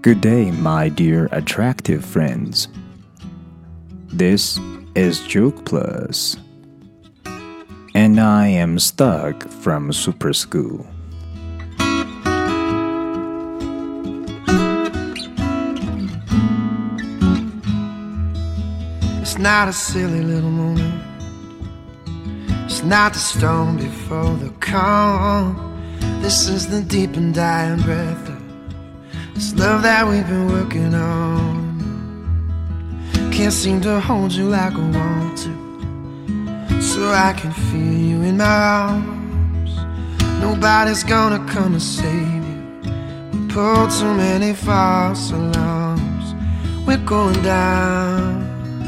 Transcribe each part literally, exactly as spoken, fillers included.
Good day, my dear attractive friends. This is Joke Plus, and I am Stuck from Super School. It's not a silly little moment. It's not the storm before the calm. This is the deep and dying breath of this love that we've been working on. Can't seem to hold you like I want to, so I can feel you in my arms. Nobody's gonna come and save you. We pulled too many false alarms. We're going down,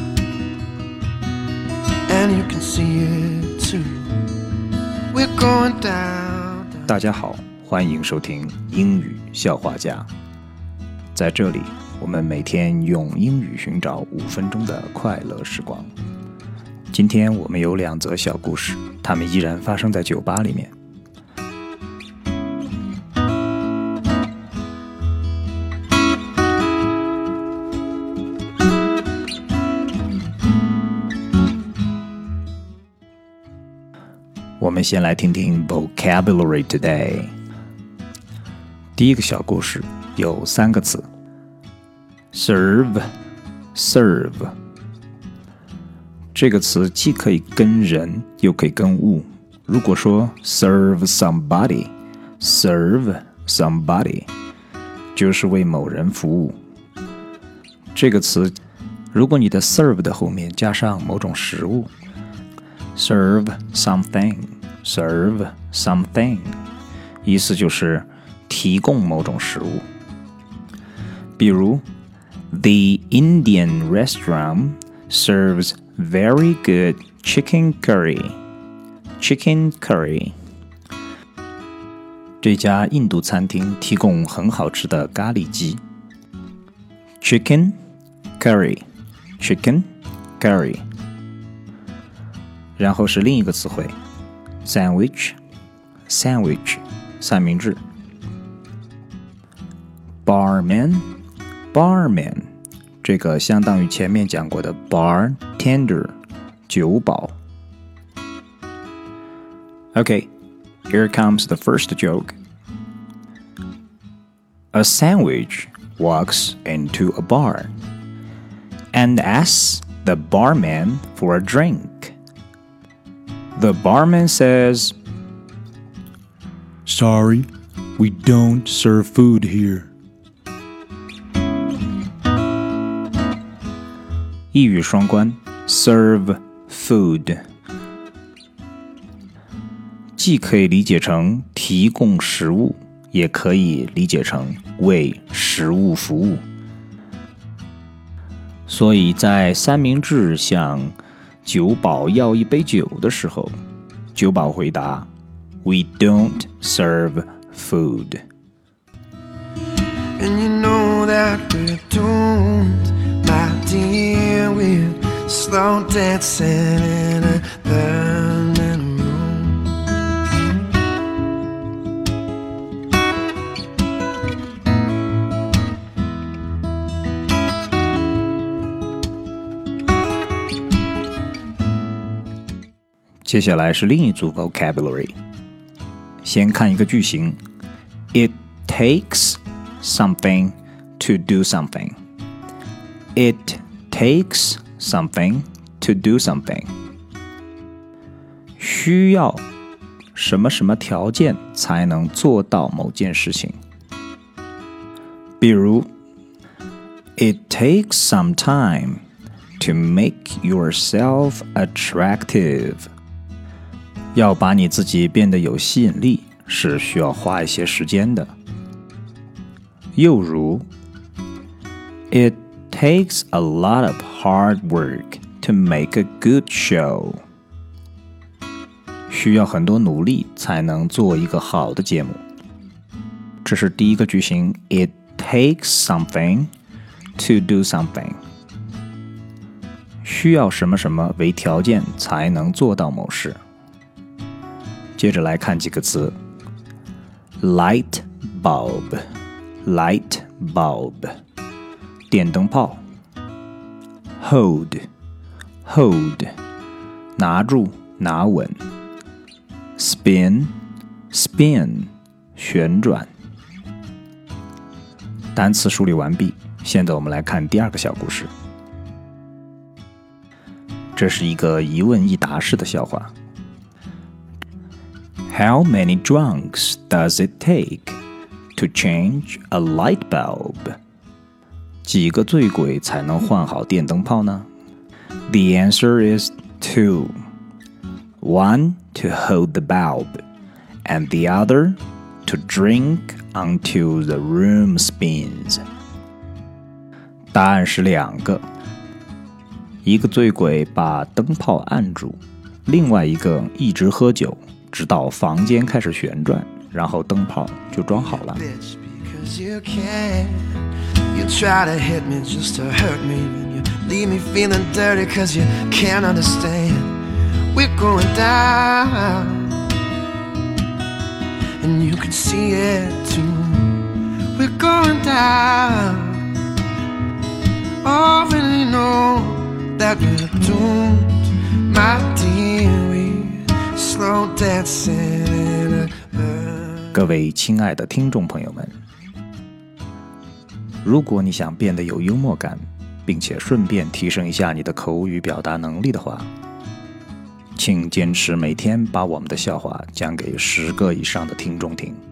and you can see it too. We're going down, down. 大家好，欢迎收听英语笑话家。在这里，我们每天用英语寻找五分钟的快乐时光。今天我们有两则小故事，它们依然发生在酒吧里面。我们先来听听 Vocabulary Today。 第一个小故事有三个词 Serve Serve 这个词既可以跟人又可以跟物。如果说 Serve somebody Serve somebody 就是为某人服务。这个词如果你的 serve 的后面加上某种食物， Serve something Serve something 意思就是提供某种食物。比如 The Indian restaurant serves very good chicken curry. Chicken curry 这家印度餐厅提供很好吃的咖喱鸡。 Chicken curry Chicken curry 然后是另一个词汇 Sandwich Sandwich 三明治。Barman Barman 这个相当于前面讲过的 bartender 酒保。 Okay, here comes the first joke. A sandwich walks into a bar and asks the barman for a drink. The barman says, Sorry, we don't serve food here. 一语双关 serve food 既可以理解成提供食物，也可以理解成为食物服务。所以在三明治向酒保要一杯酒的时候，酒保回答 We don't serve food. And you know that we don't, my dear, we're slow dancing in a burning room. .接下来是另一组 vocabulary。 先看一个句型 It takes something to do something. It takes something to do something. 需要什么什么条件才能做到某件事情。比如 It takes some time to make yourself attractive. 要把你自己变得有吸引力，是需要花一些时间的。又如 It takes a lot of hard work to make a good show. 需要很多努力才能做一个好的节目。这是第一个句型 It takes something to do something. 需要什么什么为条件才能做到某事。接着来看几个词 Light bulb Light bulb 电灯泡 hold hold 拿住拿稳 spin spin 旋转。单词梳理完毕，现在我们来看第二个小故事。这是一个一问一答式的笑话。How many drunks does it take to change a light bulb? 几个醉鬼才能换好电灯泡呢？ The answer is two. One to hold the bulb, and the other to drink until the room spins. 答案是两个，一个醉鬼把灯泡按住，另外一个一直喝酒，直到房间开始旋转，然后灯泡就装好了。 You try to hit me just to hurt me, and you leave me feeling dirty cause you can't understand. We're going down, and you can see it too. We're going down, already know that we're doomed, my dear. We're slow dancing in a bird. 各位亲爱的听众朋友们，如果你想变得有幽默感，并且顺便提升一下你的口语表达能力的话，请坚持每天把我们的笑话讲给十个以上的听众听。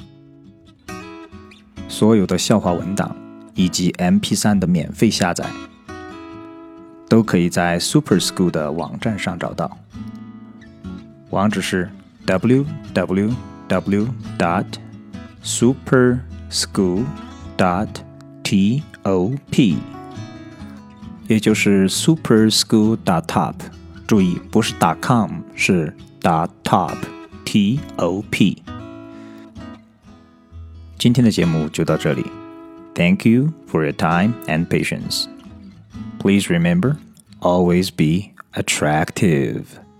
所有的笑话文档以及 M P 三 的免费下载，都可以在 Super School 的网站上找到。网址是 double-u double-u double-u dot super school dot top， 也就是 super school dot top， 注意不是 .com， 是 .top T O P。 今天的节目就到这里。 Thank you for your time and patience. Please remember, always be attractive.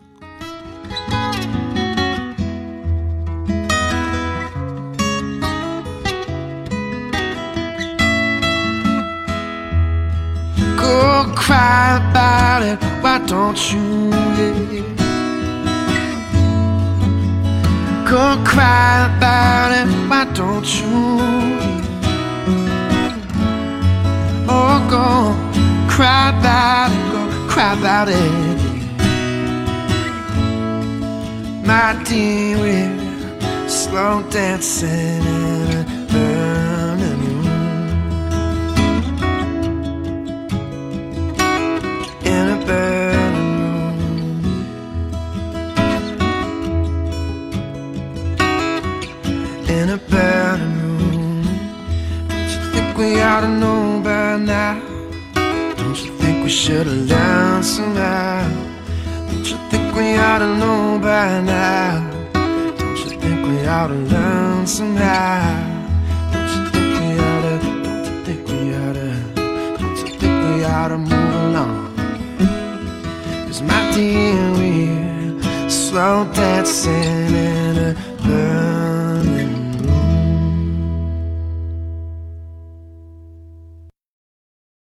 Cry about it, why don't you? Yeah. Go cry about it, why don't you? Yeah. Oh, go cry about it, go cry about it. Yeah. My dear, we're slow dancing in a burning room. In a burning room. Don't you think we ought to know by now? Don't you think we should have learned somehow? Don't you think we ought to know by now? Don't you think we ought to learn somehow? Don't you think we ought to? Don't you think we ought to? Don't you think we ought to move along? 'Cause my dear, we're slow dancing in a burning